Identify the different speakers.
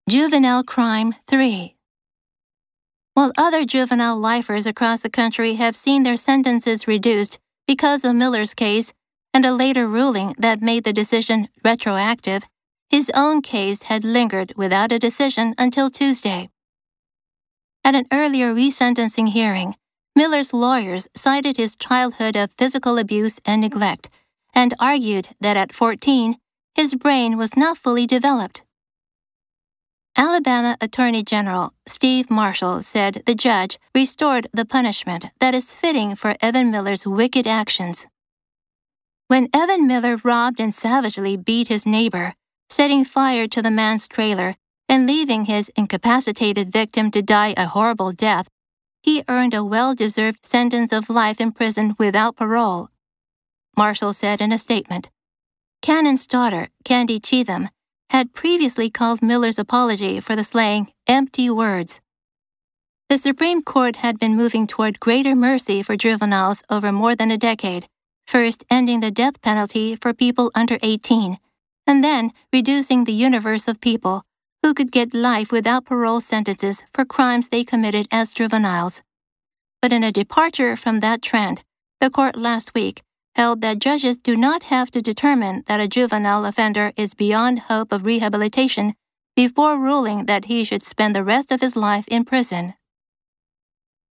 Speaker 1: Juvenile Crime 3. While other juvenile lifers across the country have seen their sentences reduced because of Miller's case and a later ruling that made the decision retroactive, his own case had lingered without a decision until Tuesday. At an earlier resentencing hearing, Miller's lawyers cited his childhood of physical abuse and neglect and argued that at 14, his brain was not fully developed. Alabama Attorney General Steve Marshall said the judge restored the punishment that is fitting for Evan Miller's wicked actions. When Evan Miller robbed and savagely beat his neighbor, setting fire to the man's trailer and leaving his incapacitated victim to die a horrible death, he earned a well-deserved sentence of life in prison without parole. Marshall said in a statement. Cannon's daughter, Candy Cheatham, had previously called Miller's apology for the slaying empty words. The Supreme Court had been moving toward greater mercy for juveniles over more than a decade, first ending the death penalty for people under 18, and then reducing the universe of people who could get life without parole sentences for crimes they committed as juveniles. But in a departure from that trend, the court last week held that judges do not have to determine that a juvenile offender is beyond hope of rehabilitation before ruling that he should spend the rest of his life in prison.